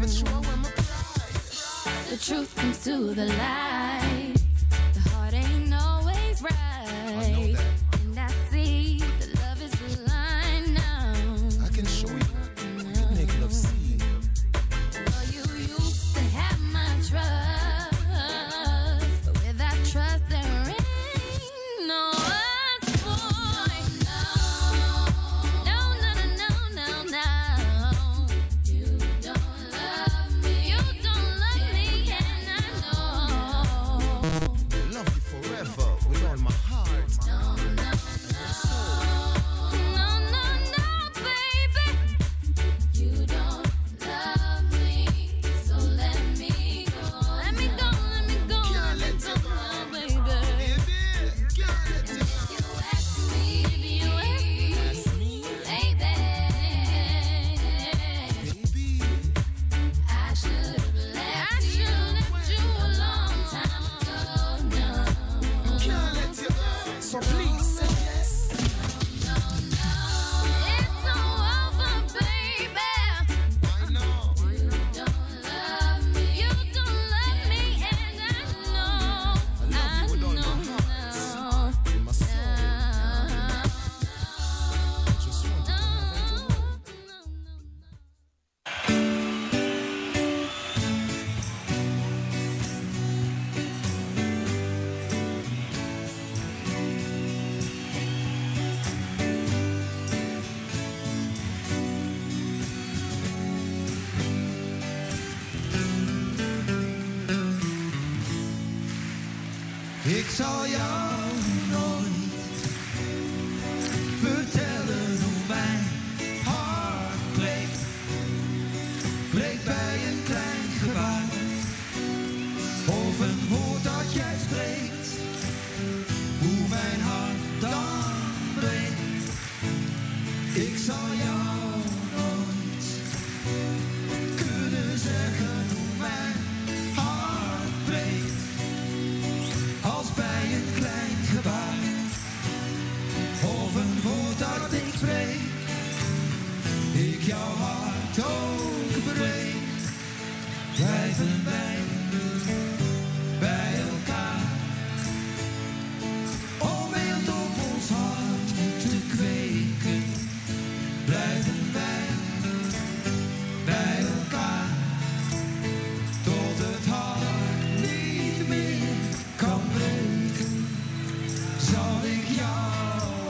The truth comes to the light. The heart ain't always right. And I see that love is blind now. I can show you. You can make love see. Well, you used to have my trust, but without trust there ain't no us, boy. No, no, no, no, no, no. You don't love me. You don't love me, and I know. Love you forever with all my heart. No, no, no. No, no, no, baby. You don't love me, so let me go. Let me go, let me go, Can't let let me you go, go. baby. Baby, can't let you go. You ask me, if you ask me, baby. Baby, I should have left you a long time ago. No, can't let you go. So please say yes. no, no. It's all over, baby. I know. You don't love me. You don't love me, and I know. I love you with all my heart. In my soul. I just want you to have it all. Ik zal jou nooit vertellen hoe mijn hart breekt. Breekt bij een klein gebaar of een woord dat jij spreekt. Hoe mijn hart dan breekt. Ik zal jou nooit kunnen zeggen hoe mijn hart breekt. Als bij een klein gebaar of een woord dat ik spreek. Ik jouw hart ook breek. Blijven wij bij elkaar. Om wild op ons hart te kweken. Blijven wij bij elkaar. Tot het hart niet meer kan breken. Zal ik jou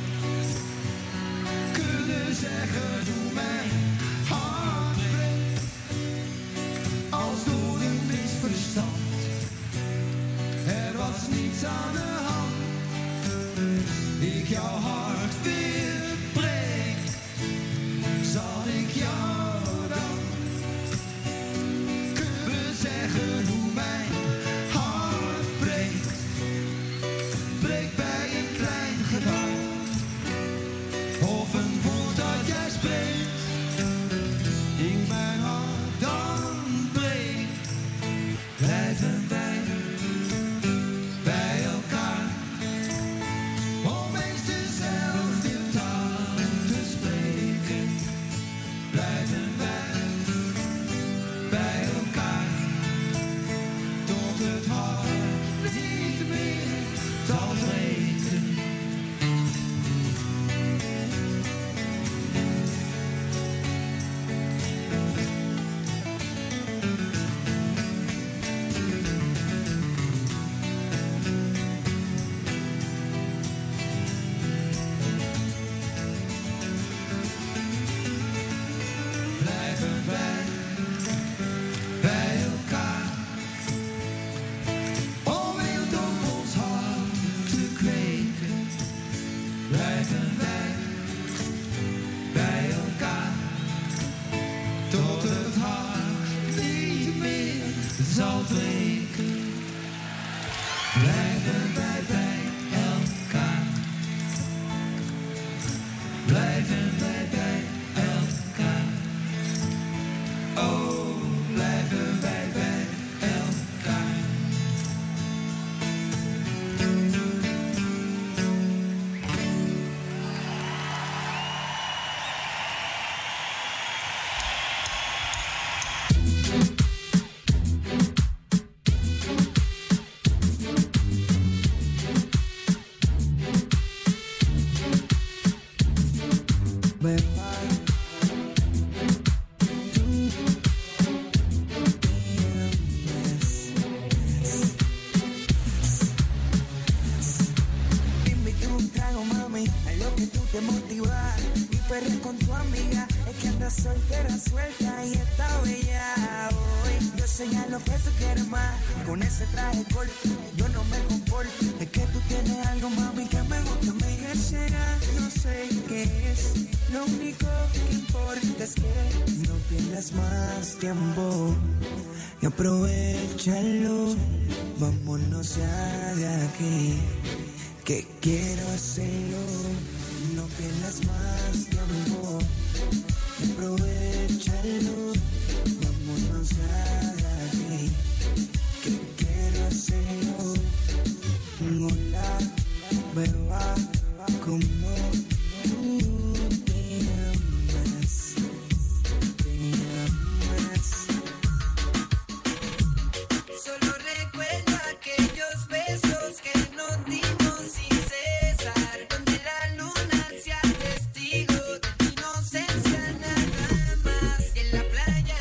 kunnen zeggen hoe mijn hart breekt. Als door een misverstand. Er was niets aan de hand. Ik jouw hart weer breek. Zal ik jou dan kunnen zeggen hoe mijn hart breekt. Breekt bij een klein gebaar of een woord dat jij spreekt. Ik mijn hart dan breek. Blijven wij bij elkaar. Om eens dezelfde taal te spreken. Blijven wij bij elkaar. Tot het hart niet meer zal breken. Blijven wij bij elkaar. Om wild op ons hart te kweken. Blijven wij bij elkaar. Tot het hart niet meer zal breken. Blijven wij bij elkaar. Blijven wij bij elkaar. Oh, blijven wij bij elkaar. lo que tú quieres más. Con ese traje corto, yo no me comporto. Es que tú tienes algo, mami, que me gusta. ¿Qué será? No sé qué es. Lo único que importa es que no pierdas más tiempo y aprovechalo. Vámonos ya de aquí, que quiero hacerlo. No pierdas más tiempo y aprovechalo. Vámonos ya de aquí, que quiero hacerlo. Hola, beba, como tú te amas, te amas. Solo recuerda aquellos besos que nos dimos sin cesar, donde la luna sea testigo de tu inocencia nada más. Y en la playa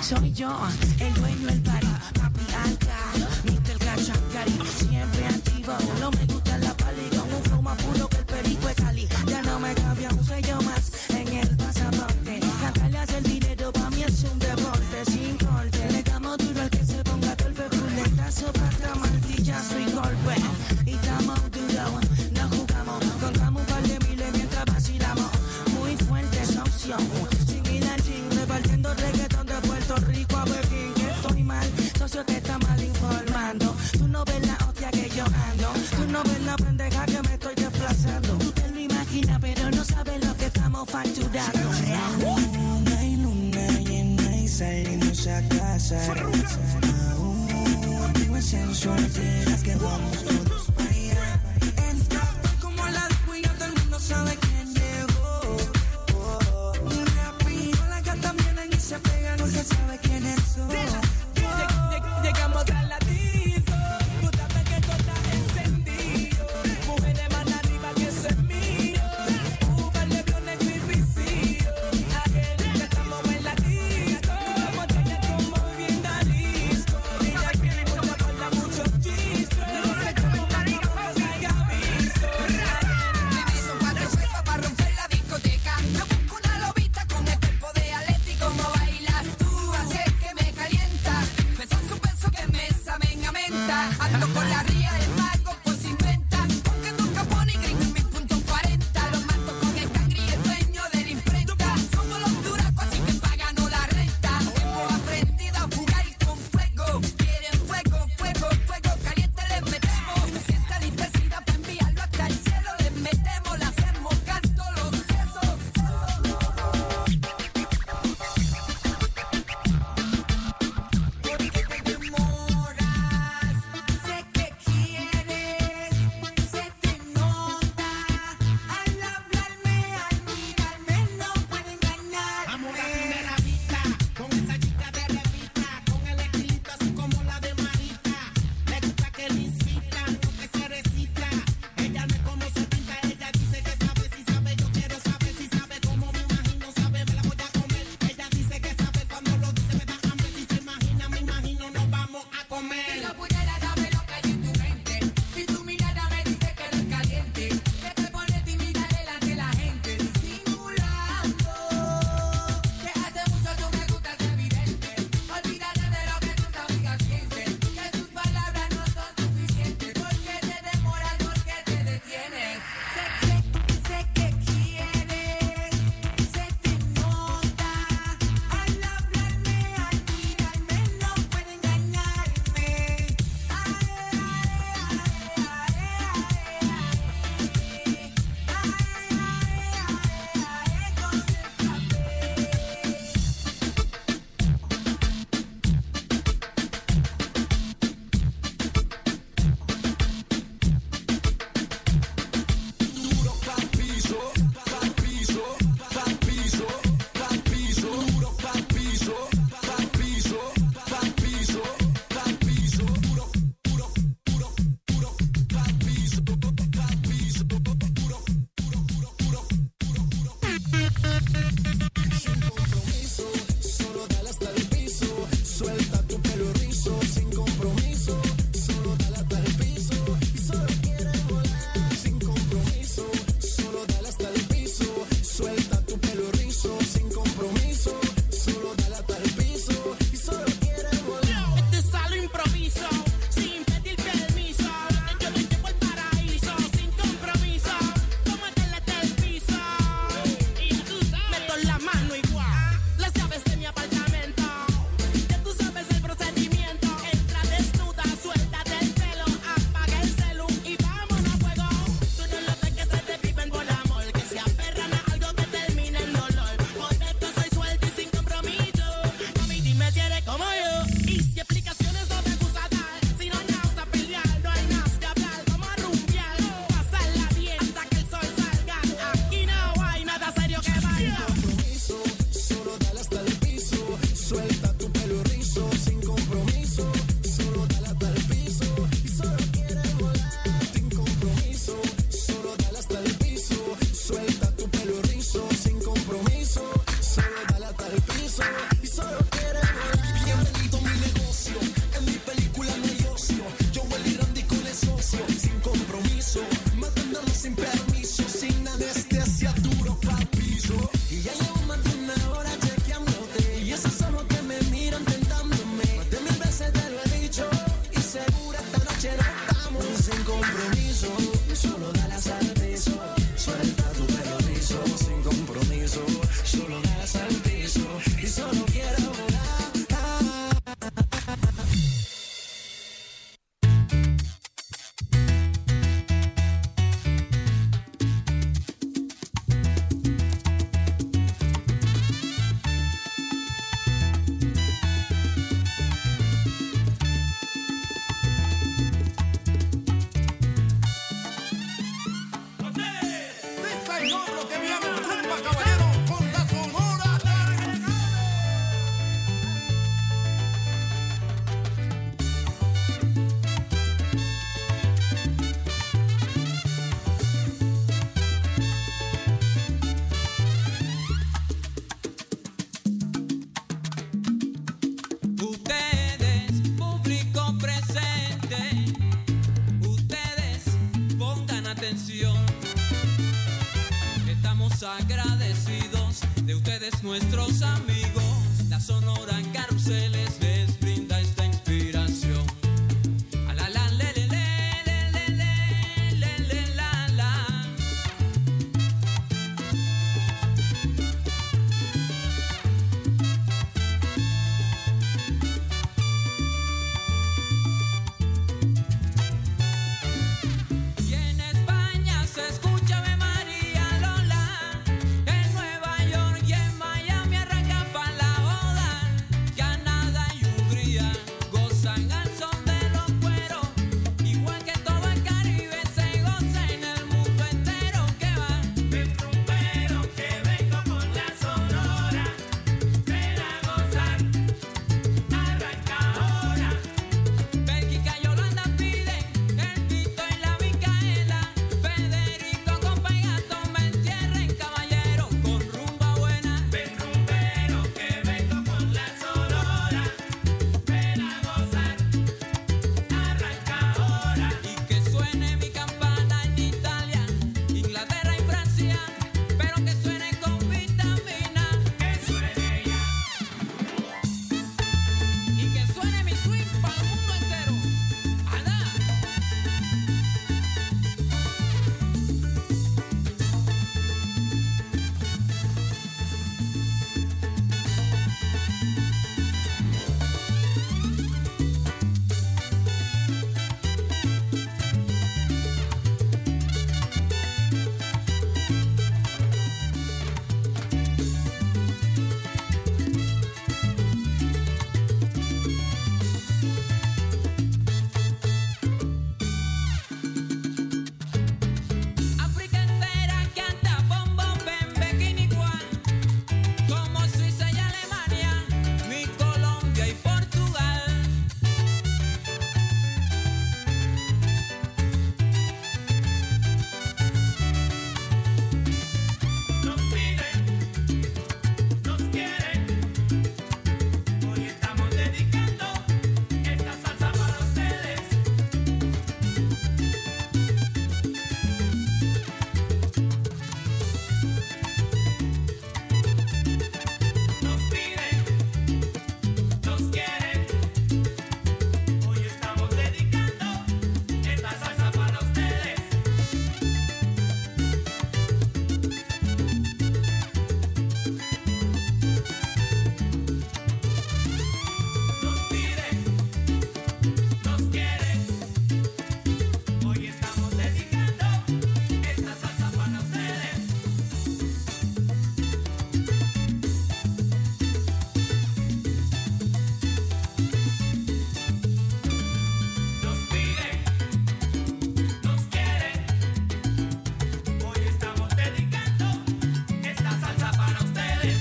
Soy yo, el dueño del party, papi alca, Mr. Cachacari, siempre activo. No me gusta la pali, con un flow más puro que el perico de Cali. Ya no me cambia un sello más en el pasaporte. Cantarle hace el dinero, pa' mí es un deporte sin corte. Le damos duro al que se ponga golpe, fuletazo, pata, martillazo y golpe. Y estamos duros, no jugamos, contamos un par de miles mientras vacilamos. Muy fuerte socio, sin ir al gym, repartiendo reggaetón de Puerto Rico a Pekín. Que estoy mal, socio te está mal informando. Tú no ves la hostia que yo ando, tú no ves la pendeja que me estoy desplazando. Tú te lo imaginas, pero no sabes lo que estamos facturando. Hay luna llena y salimos a casa. Aún en solteras que vamos todos para allá. Entra como la cuya, todo el mundo sabe quién llegó. Rápido las gatas vienen y se pegan, no se sabe quiénes son. Llegamos a la disco, tú sabes que todo está encendido. Mujeres más arriba que eso es mío. Vale, vio negro y vicio. Aquel que estamos en la disco. Vamos a tener como bien disco. Y aquí mucha falta, muchos chistes. No sé cómo beso, solo das al piso y solo quiero volar. Agradecidos de ustedes, nuestros amigos. La Sonora Carruseles les brinda esta inspiración. A la la le le le le le le le la la. Y en España se escucha Ave María Lola. En Nueva York y en Miami arranca pa' la boda. Canadá y Hungría gozan al son de los cueros. Igual que todo el Caribe se goza en el mundo entero. Que va del rumbero que vengo con la Sonora. Ven a gozar, arranca ahora. Bélgica y Holanda piden el Tito y la Micaela. Federico con Pegato me entierren, caballero, con rumba buena. Ven rumbero que vengo con la Sonora. Ven a gozar, arranca ahora. Y que suene mi campana en Italia, Inglaterra y Francia, pero que suene con vitamina. Que suene ya. Y que suene mi swing para el mundo entero. ¡Alá! África entera canta bombo, bembe, quinicuá. Como Suiza y Alemania, mi Colombia y Portugal. Nos piden, nos quieren. Hoy estamos dedicando esta salsa para ustedes. Nos piden, nos quieren. Hoy estamos dedicando esta salsa para ustedes. Nos piden, nos quieren. Hoy estamos dedicando esta salsa para ustedes. Nos piden, nos quieren. Hoy estamos dedicando esta salsa para ustedes.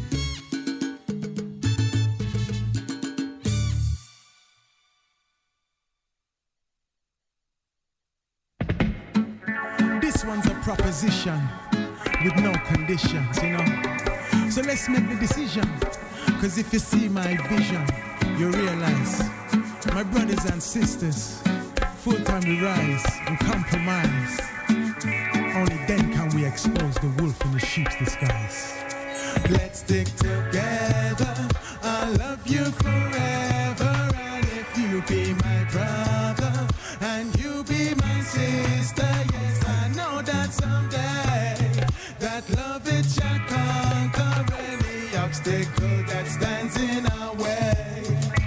This one's a proposition with no conditions, you know. So let's make the decision. Cause if you see my vision, you realize, my brothers and sisters, full time we rise and compromise. Only then can we expose the wolf in the sheep's disguise. Let's stick together, I'll love you forever. And if you be my brother and you be my sister, yes, I know that someday that love it shall come. obstacle that stands in our way.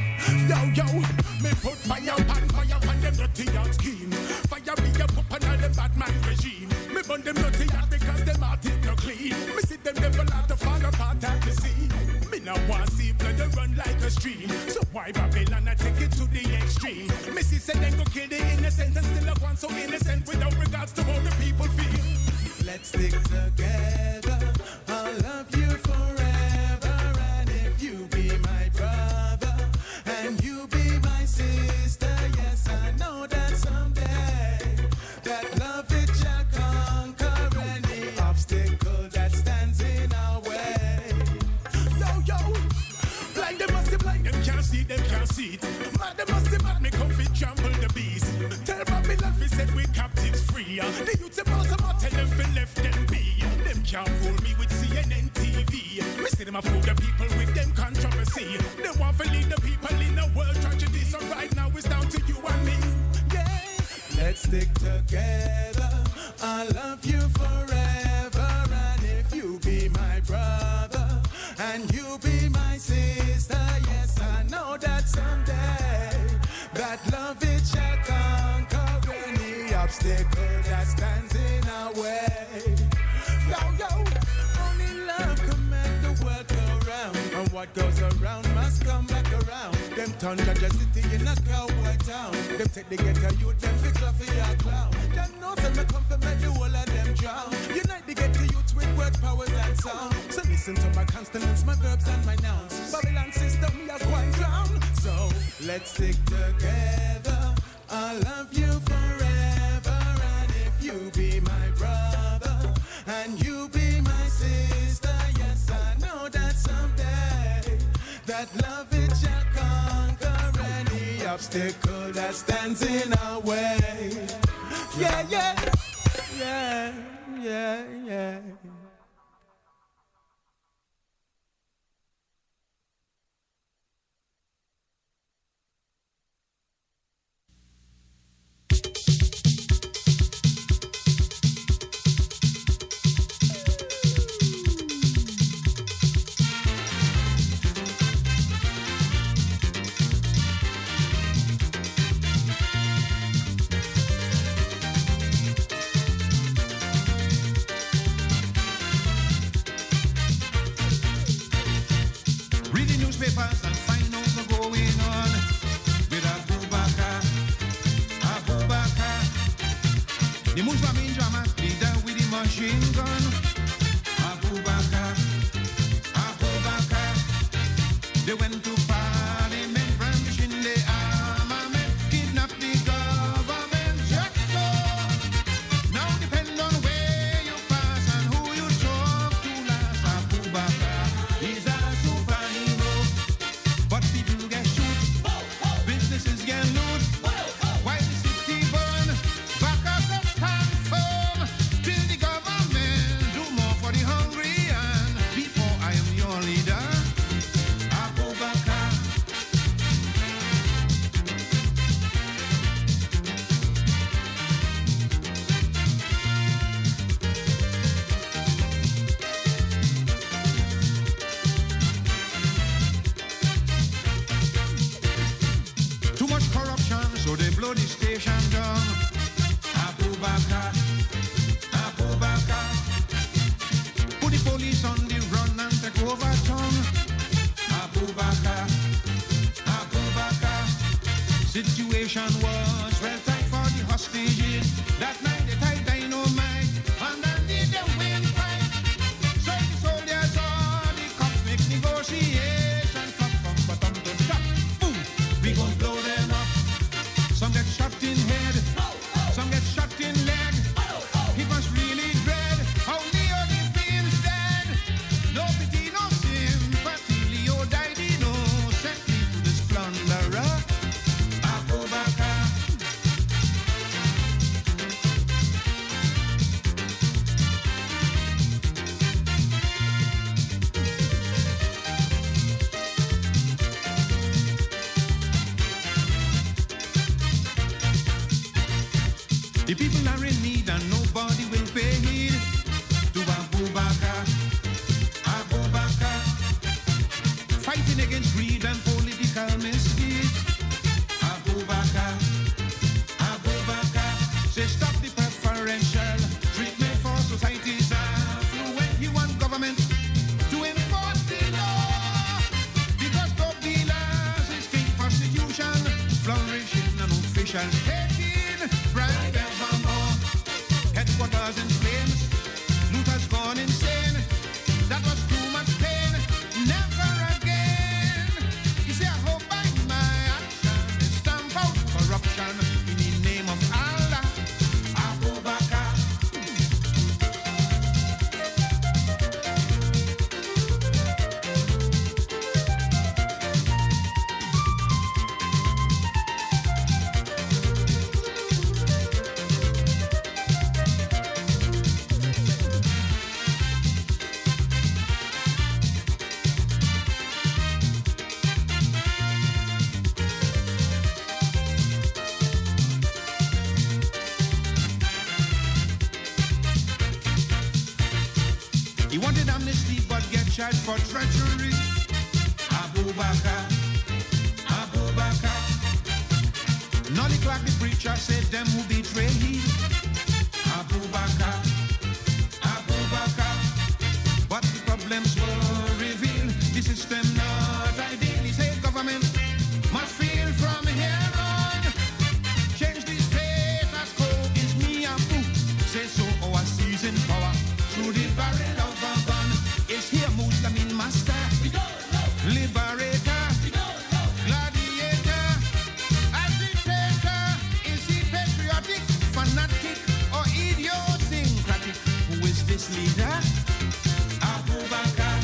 Yo, me put fire on them dirty yard scheme. Fire me up on all them bad man regime. Me burn them dirty yard because them heart is no clean. Me see them devil out to fall apart at the sea. Me now want see blood run like a stream. So why Babylon I take it to the extreme? Me see say them go kill the innocent and still a one so innocent without regards to how the people feel. Let's stick together. I'll love you forever. And if you be my brother and you be my sister, yes, I know that someday that love it shall conquer any obstacle that stands in our way. Yo, blind them must be blind, them can't see it. Mad them must be mad, me come fit trample the beast. Tell Babylon we said we captives free. The youth about tell them fi left them be. Them can't fool me with CNN TV. Me see them a fool the people with them controversy. They want to lead the people in a world tragedy. So right now it's down to you and me. Yeah. Let's stick together. I love you forever. And if you be my brother and you be my sister, yes, I know that someday that love it shall conquer any obstacle that stands in our way. Yo, only love can make the world go round, and what goes around must come back around. Them turn Georgia City in a cowboy town. Them take the ghetto youth, them fi coffee a clown. Them know say me come to make the whole of them drown. Unite the ghetto youth with word powers and sound. So listen to my consonants, my verbs and my nouns. Babylon system, we are going drown. So let's stick together. I love you forever. And if you be my brother and you be my sister, yes, I know that someday that love it shall conquer any obstacle that stands in our way. Yeah. And find out what's going on with Abubakar. The Muslim in Jamas leader with the machine gun. Abubakar. They went to parliament, brandishing the armament, kidnap the government. Just so. Now depend on where you pass and who you talk to last. Abubakar is a superhero. But people get shoot, businesses get loot, while the city burn, back up the stand firm, till the government do more for the hungry. And before I am your leader, Abubakar. Too much corruption, so they blow the station down. Abubakar. Put the police on the run and take over town. Abubakar. Situation was well tight for the hostages. That night they tied dynamite underneath the windpipe. So the soldiers or the cops make negotiation. From bottom to top, boom, we gon' blow them up. Some get shot in head, some get shot in leg. It was really dread how Leo the Fiends dead. No pity, no sympathy. Leo died innocently to this plunderer. Abubakar. The people are in need and nobody will pay heed to Abubakar. shall take in bribe evermore. Headquarters in flames, loot has gone insane. That was too much pain, never again. You see, I hope by my action is stamp out corruption in the name of Allah. Abu Bakr. He wanted amnesty but get charged for treachery. Abu Bakr, Abu Bakr. Nolly Clark the preacher said them who betray he. Abu Bakr, Abu Bakr. But the problems were revealed. The system not ideal. He said government must feel from here on. Change the status quo is me and who. Say so our season power through the barrel of a gun. Is here Muslim master, liberator, gladiator, agitator. Is he patriotic, fanatic, or idiosyncratic? Who is this leader? Abu Bakr.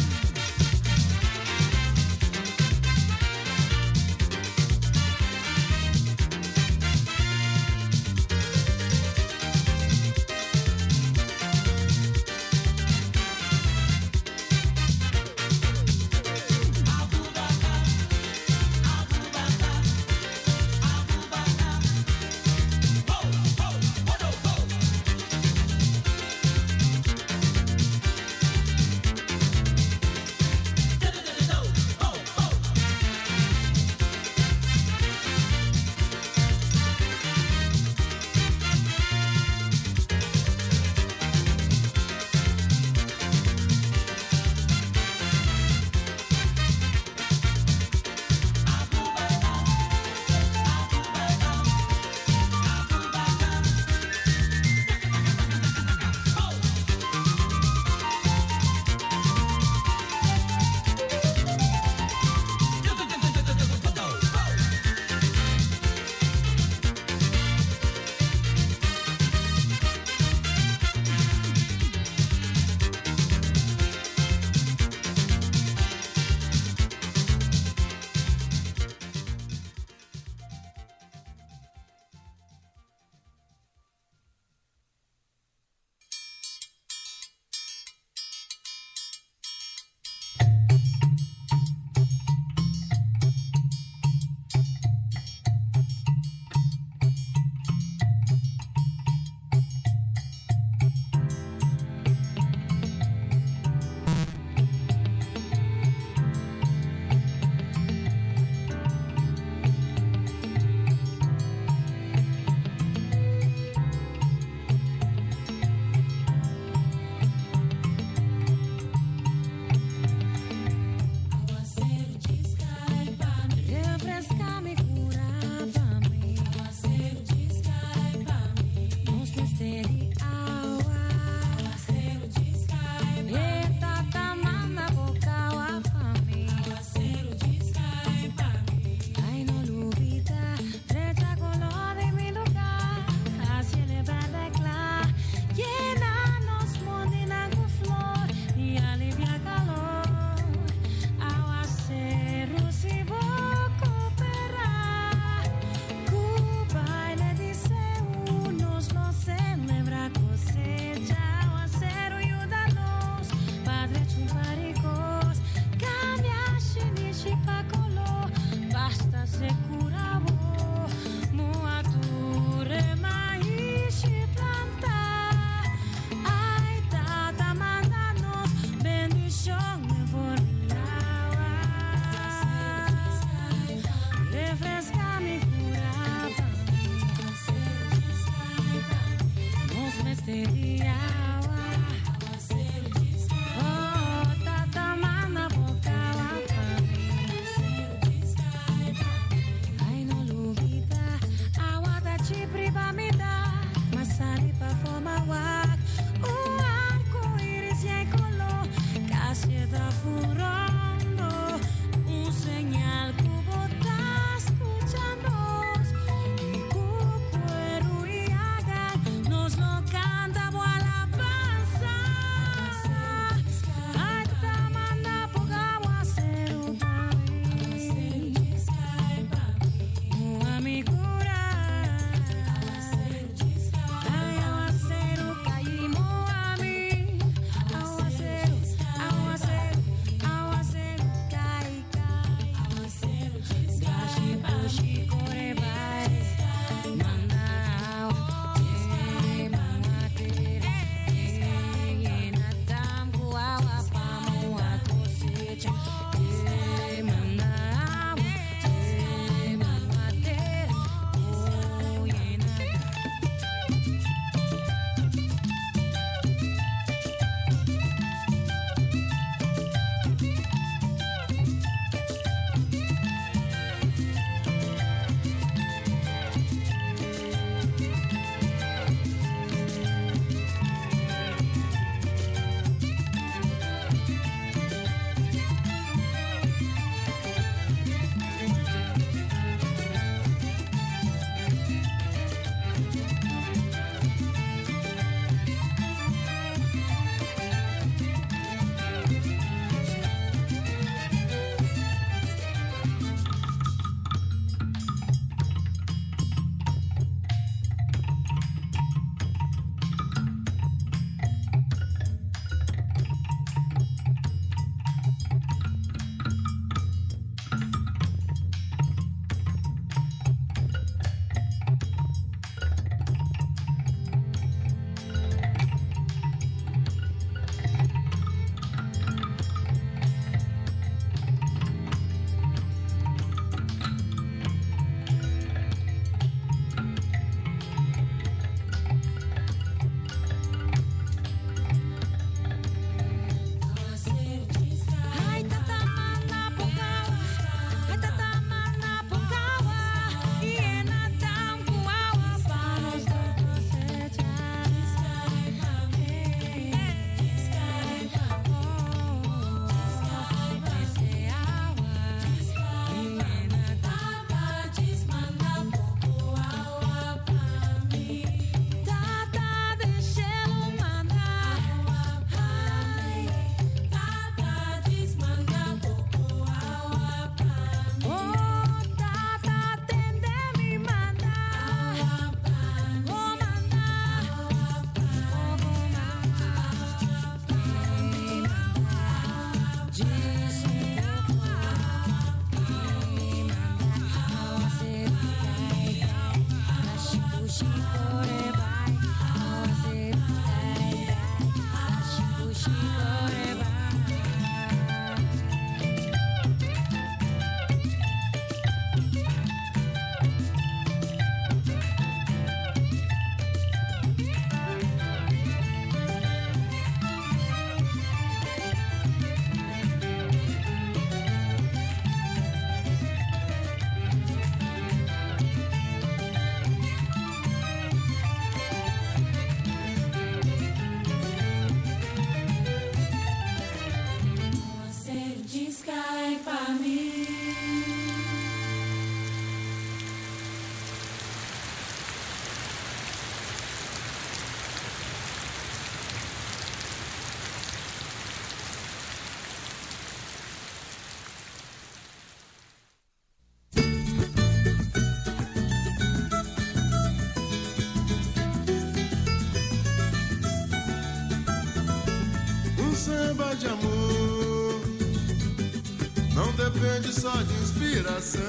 depende só de inspiração.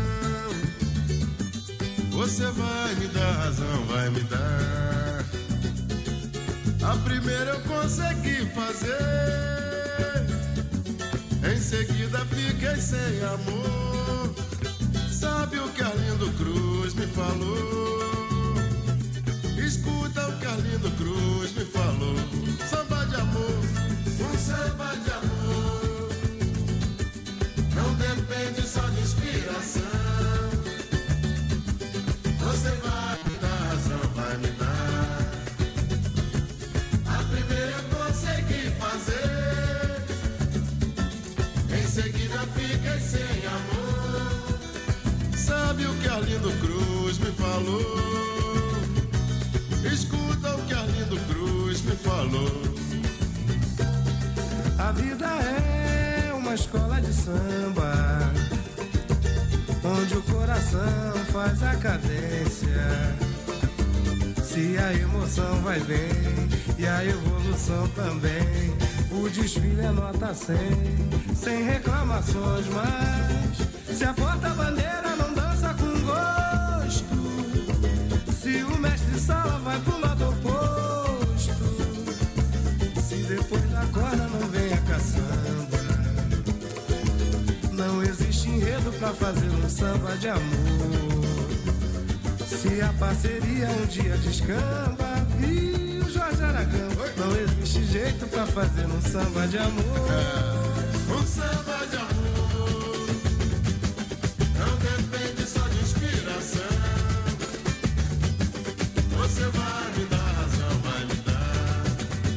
Você vai me dar razão, vai me dar. A primeira eu consegui fazer, em seguida fiquei sem amor. Sabe o que Arlindo Cruz me falou? Escuta o que Arlindo Cruz me falou. Samba de amor, um samba de amor, não depende só de inspiração. Você vai me dar razão, vai me dar. A primeira eu consegui fazer, em seguida fiquei sem amor. Sabe o que Arlindo Cruz me falou? Escuta o que Arlindo Cruz me falou. A vida é uma escola de samba, onde o coração faz a cadência. Se a emoção vai bem e a evolução também, o desfile é nota 100, sem reclamações. Mas se a porta-bandeira não dança com gosto, se o mestre-sala vai pro lado oposto, se depois da corda não vem a caçamba, não existe enredo pra fazer um samba de amor. Se a parceria um dia descamba, viu Jorge Aragão, não existe jeito pra fazer um samba de amor. Um samba de amor não depende só de inspiração. Você vai me dar razão, vai me dar.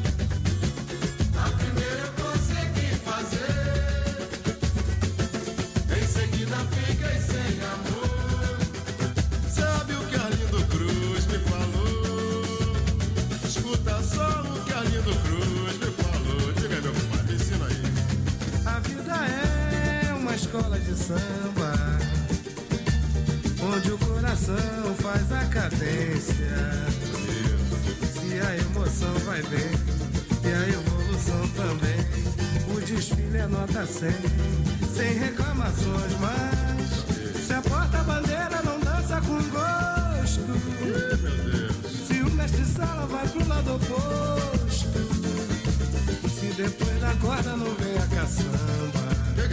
A primeira eu consegui fazer, em seguida fiquei sem amor. Sabe o que Arlindo Cruz me falou? Escuta só o que Arlindo Cruz me falou. Diga aí, meu compadre, ensina aí. A vida é uma escola de samba, onde o coração faz a cadência. Se a emoção vai bem e a evolução também, o desfile é nota 100, sem reclamações. Mas se a porta-bandeira não dança com gosto, se o mestre-sala vai pro lado oposto, se depois da corda não vem a caçamba,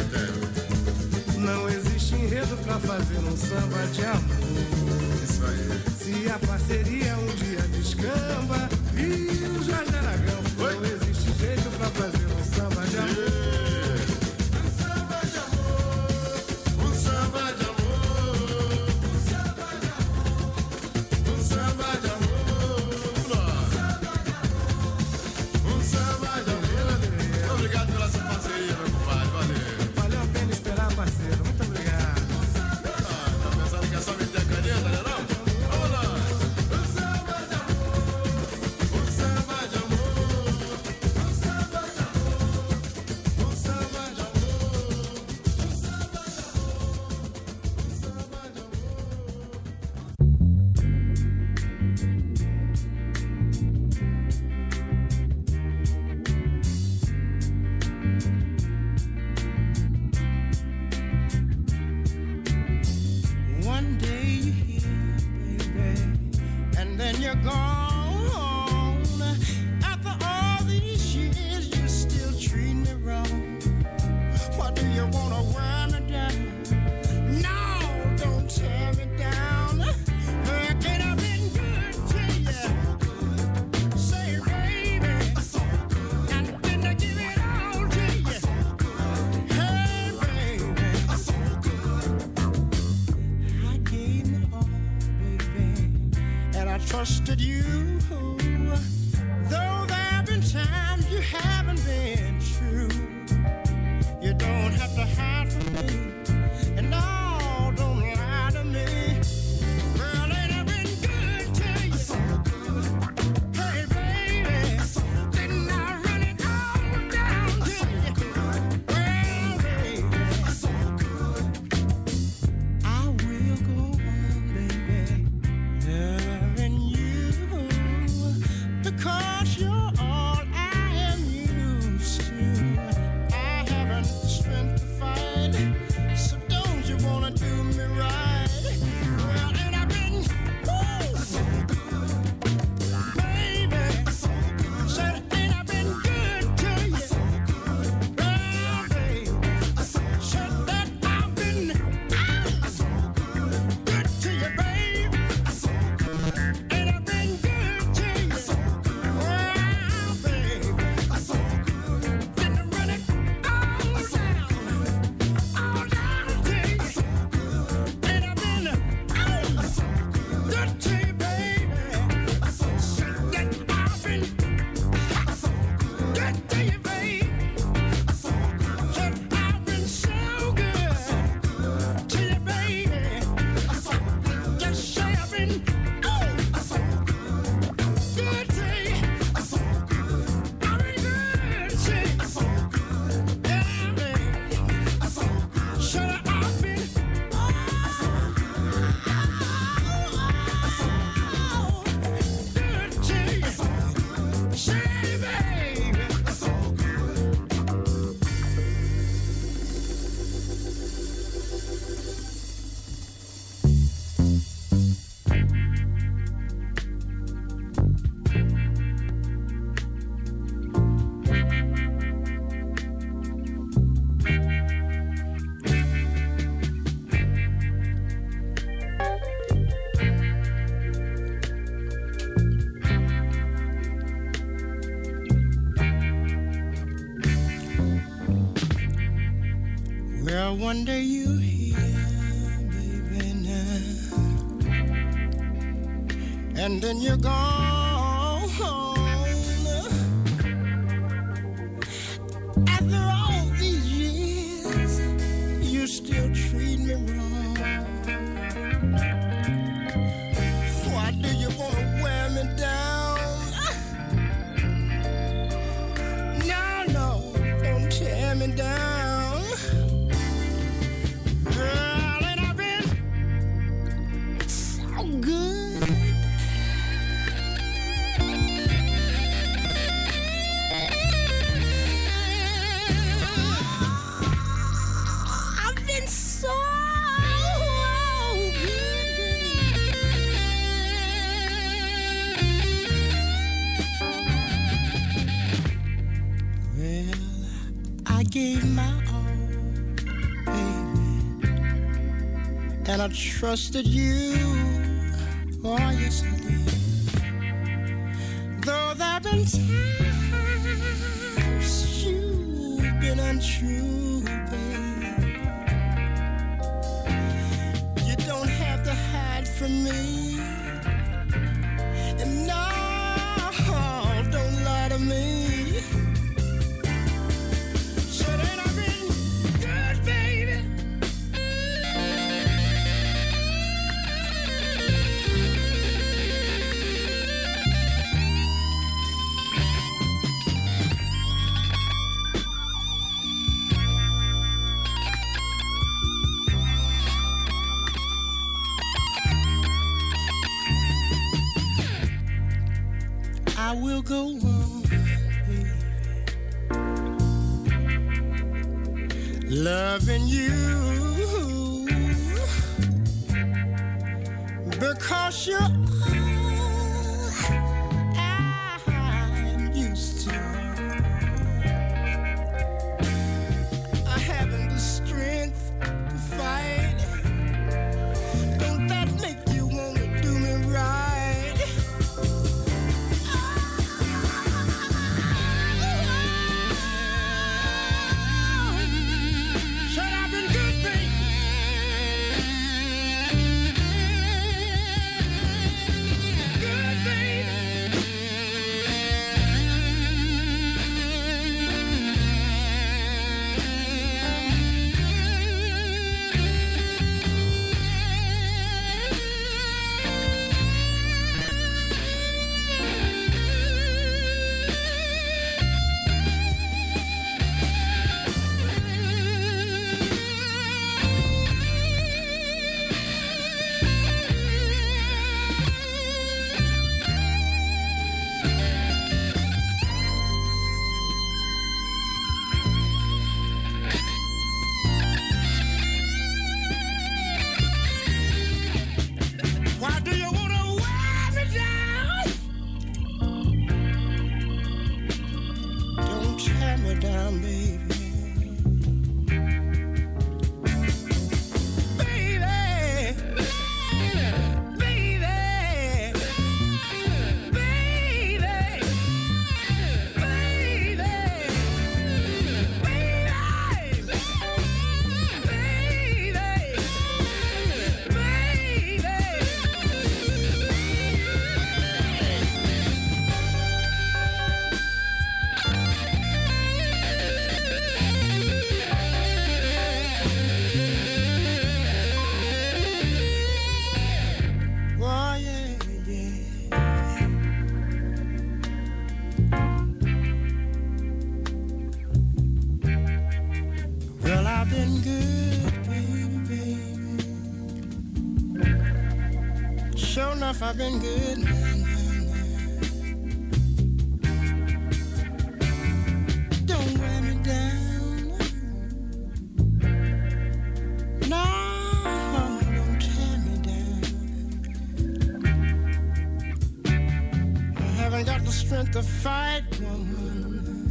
não existe enredo pra fazer um samba de amor. Isso aí. Se a parceria um dia descamba, viu Jorge Aragão, não existe jeito pra fazer um samba de amor. Um samba de amor, um samba de amor, um samba de amor, um samba de amor, um samba de amor. Obrigado pela sua parceria, meu compadre, valeu. Valeu a pena esperar, parceiro, muito obrigado. Tá pensando que é só meter a caneta, né não? Vamos lá. Um samba de amor, um samba de amor, um samba de amor, um samba de amor, um samba de One day you're here, baby, and then you're gone. After all these years, you're still treating me wrong. Why do you wanna wear me down? No, don't tear me down. Can I been good to you? Say, baby, and then I give it all to you. Hey, baby, I gave my all, baby, and I trusted you. Though there have been times you haven't been true, you don't have to hide from me, and no, don't lie to me. Girl, ain't I been good to you? Hey, baby, didn't I run it all down to you? Well, baby, I will go on, baby, loving you. Well, one day you here, baby, now, and then you're gone. After all these years, you still treat me wrong. Why do you wanna wear me down? No, no, don't tear me down. Girl, and I've been so good. I've been so good. Well, I gave my all, baby, and I trusted you. Oh, yes, I did. Though there've been times you've been untrue, baby. You don't have to hide from me. And no, don't lie to me. Said ain't I been good, baby? I will go on, baby, loving you because you're all I'm used to. I haven't the strength to fight. Don't that make you want to do me right? Said I've been good, baby. Good, baby. Why do you wanna wear me down? Don't tear me down, baby. Baby, baby, baby, oh, yeah, yeah. Well, I've been good, baby, baby. Sure enough, I've been good, man. Don't wear me down. No, don't tear me down. I haven't got the strength to fight, woman.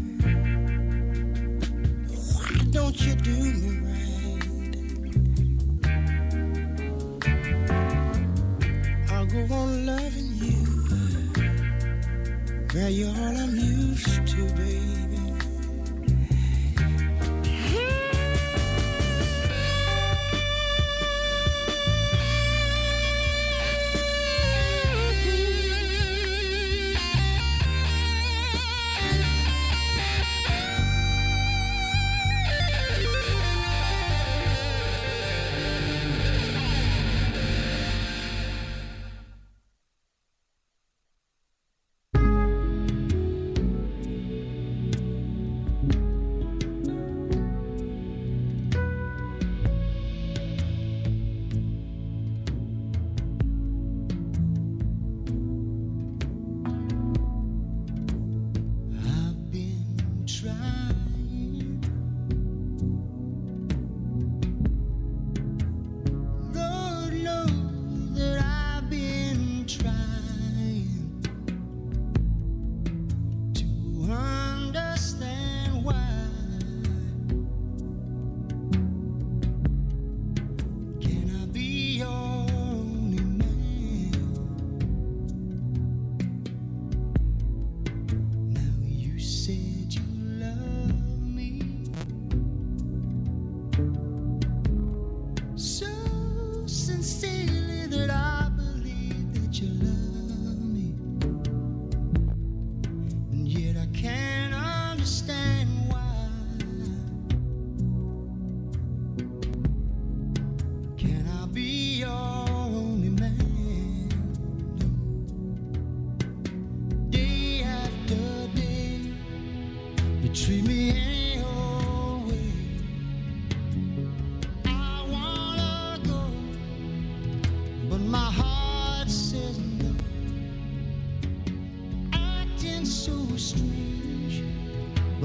Why don't you do me right? I'll go on loving you. Girl, you're all I'm used to, baby.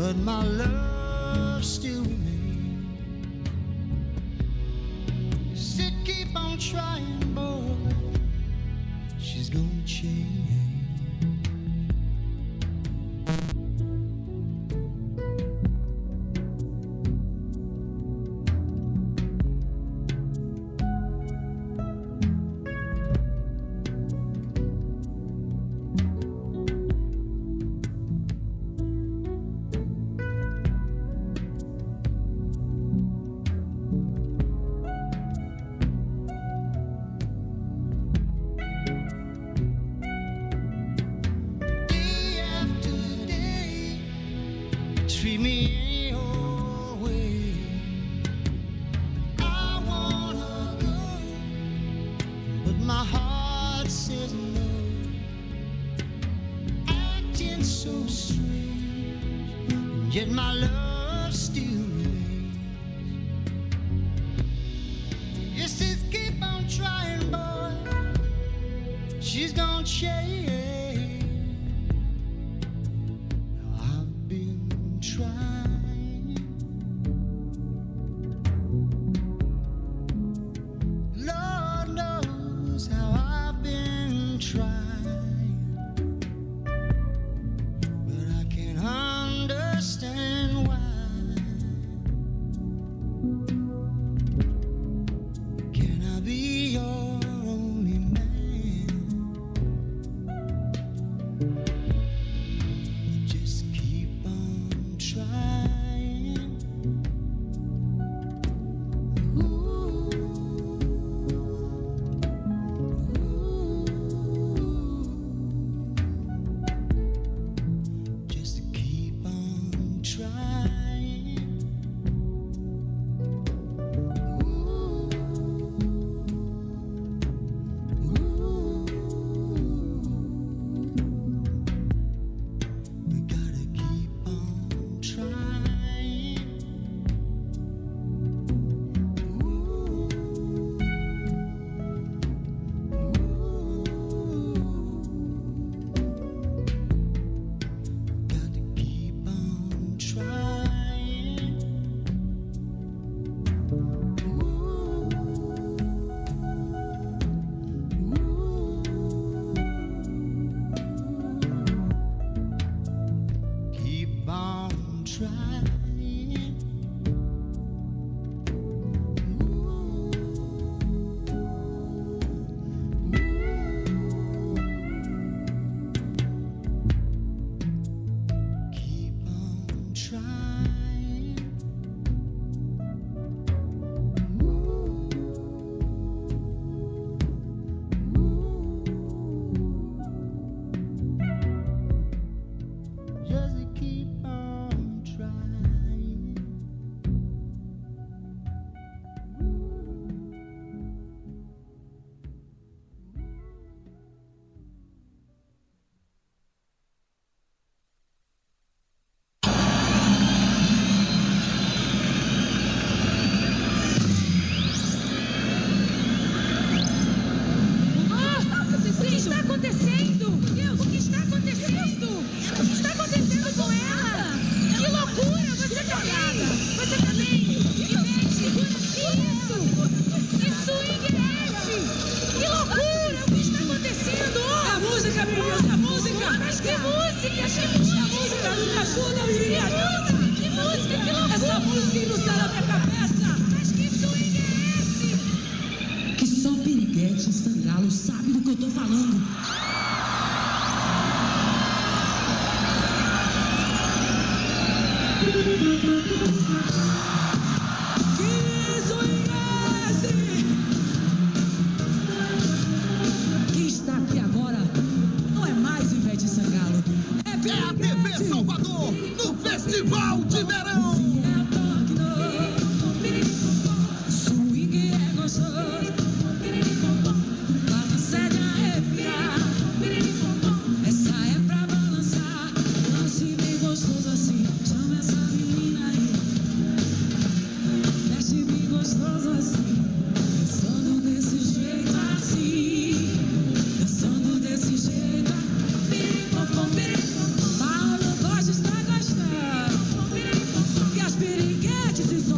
but my love still remains. Said keep on trying, boy, she's gonna change. Treat me your way. I wanna go, but my heart says no. Acting so strange, and yet my love still remains. It says keep on trying, boy, she's gonna change. Lord knows how I've been trying, but I can't understand why. Can I be your only man? Just keep on trying.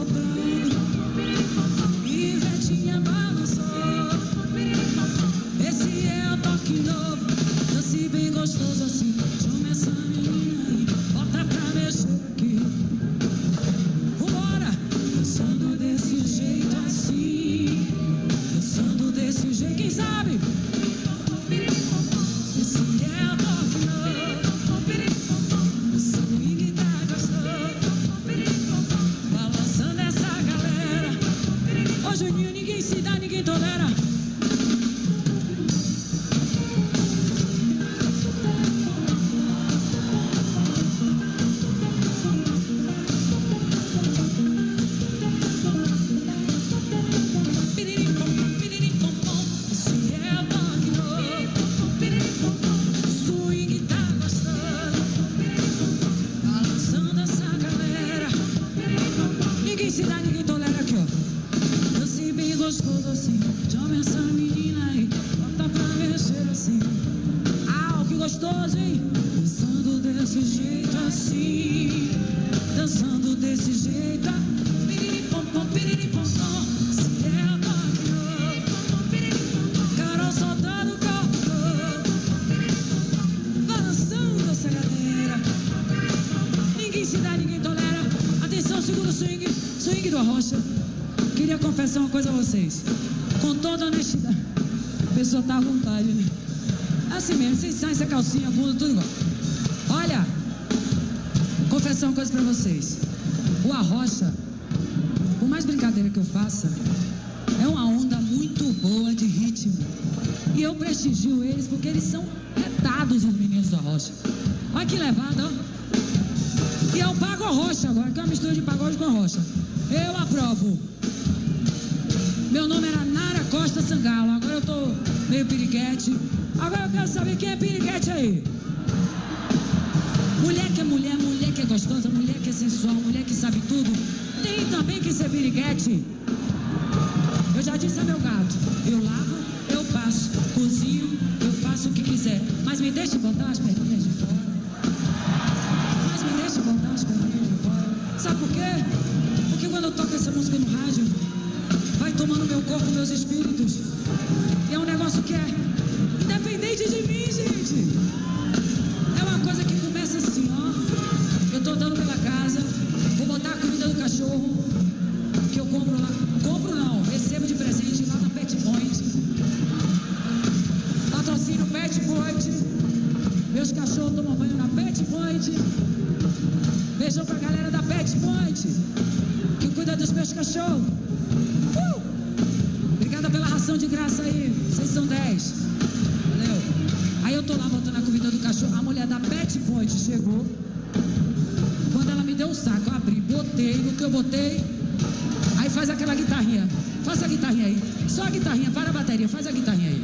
soprando. Ivetinha balançou. Esse é o toque novo. Dance bem gostoso assim. Chama essa menina aí. Bota pra mexer aqui. Vambora! Dançando desse jeito assim. Dançando desse jeito. Quem sabe? Esse é o toque novo. O swing tá gostoso. Balançando essa galera. Ô Juninho, ninguém se dá, ninguém tolera. Esse é o toque novo. O swing tá gostoso. Balançando essa galera. Ninguém se dá, ninguém tolera aqui, ó. Dance bem gostoso assim. Chama essa menina aí. Bota pra mexer assim. Ah, que gostoso, hein? Dançando desse jeito assim. Dançando desse jeito. Piriri-pom-pom, piriri-pom-pom. Se é o toque novo. Carol soltando o corpo. Balançando essa galera. Ninguém se dá, ninguém tolera. Atenção, segura o swing. Swing do Arrocha. Queria confessar uma coisa a vocês. Com toda honestidade. A pessoa tá à vontade, né? Assim mesmo, vocês saem essa calcinha, a bunda, tudo igual. Olha, confessar uma coisa pra vocês. O Arrocha, por mais brincadeira que eu faça, é uma onda muito boa de ritmo. E eu prestigio eles porque eles são retados, os meninos do Arrocha. Olha que levada, ó. E é o Pago Arrocha agora, que é uma mistura de pagode com Arrocha. Eu aprovo. Meu nome era Nara Costa Sangalo, agora eu tô meio piriguete. Agora eu quero saber quem é piriguete aí. Mulher que é mulher, mulher que é gostosa, mulher que é sensual, mulher que sabe tudo. Tem também que ser piriguete. Eu já disse a meu gato, eu lavo, eu passo, cozinho, eu faço o que quiser. Mas me deixe botar as perninhas de fora. Mas me deixe botar as perninhas de fora. Sabe por quê? Porque quando eu toco essa música no rádio, vai tomando meu corpo, meus espíritos. E é um negócio que é independente de mim, gente. É uma coisa que começa assim, ó. Eu tô andando pela casa, vou botar a comida do cachorro, que eu compro lá. Compro não, recebo de presente lá na Pet Point. Patrocínio Pet Point. Meus cachorros tomam banho na Pet Point. Beijão pra galera da Pet Point, que cuida dos meus cachorros. Obrigada pela ração de graça aí. Vocês são 10. Valeu. Aí eu tô lá botando a comida do cachorro. A mulher da Pet Point chegou. Quando ela me deu o saco, eu abri, botei. No que eu botei, aí faz aquela guitarrinha. Faz a guitarrinha aí. Só a guitarrinha, para a bateria. Faz a guitarrinha aí.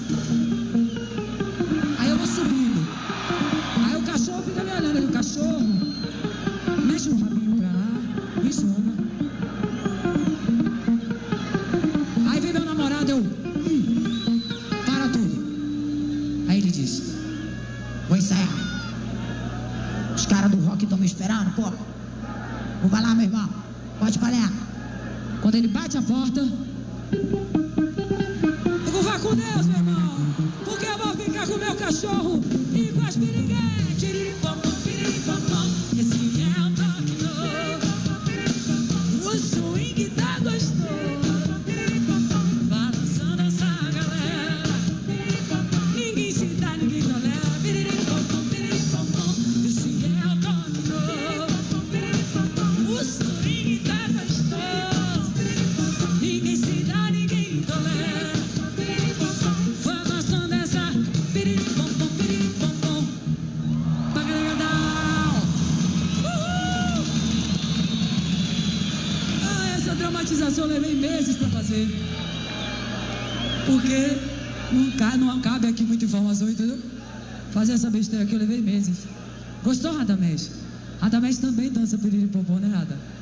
Aí eu vou subindo. Aí o cachorro fica me olhando ali. O cachorro mexe o rabinho pra lá, me chama. Aí vem meu namorado, eu... para tudo. Aí ele disse: vou ensaiar. Os caras do rock estão me esperando, pô. Vai lá, meu irmão. Pode palhar. Quando ele bate a porta, eu vou vá com Deus, meu irmão. Porque eu vou ficar com o meu cachorro e com as piriguetes. Esse é o toque novo. O swing tá gostoso. Balançando essa galera. Ninguém se dá, ninguém tolera. Esse é o toque novo. O swing tá gostoso. Ninguém se dá, ninguém tolera. Foi gostando dessa piriri-pom-pom, piriri-pom-pom. Essa dramatização eu levei meses pra fazer. Porque não cabe aqui muita informação, entendeu? Fazer essa besteira aqui eu levei meses. Gostou, Radamés? Radamés também dança piriri-pom-pom, né, Rada?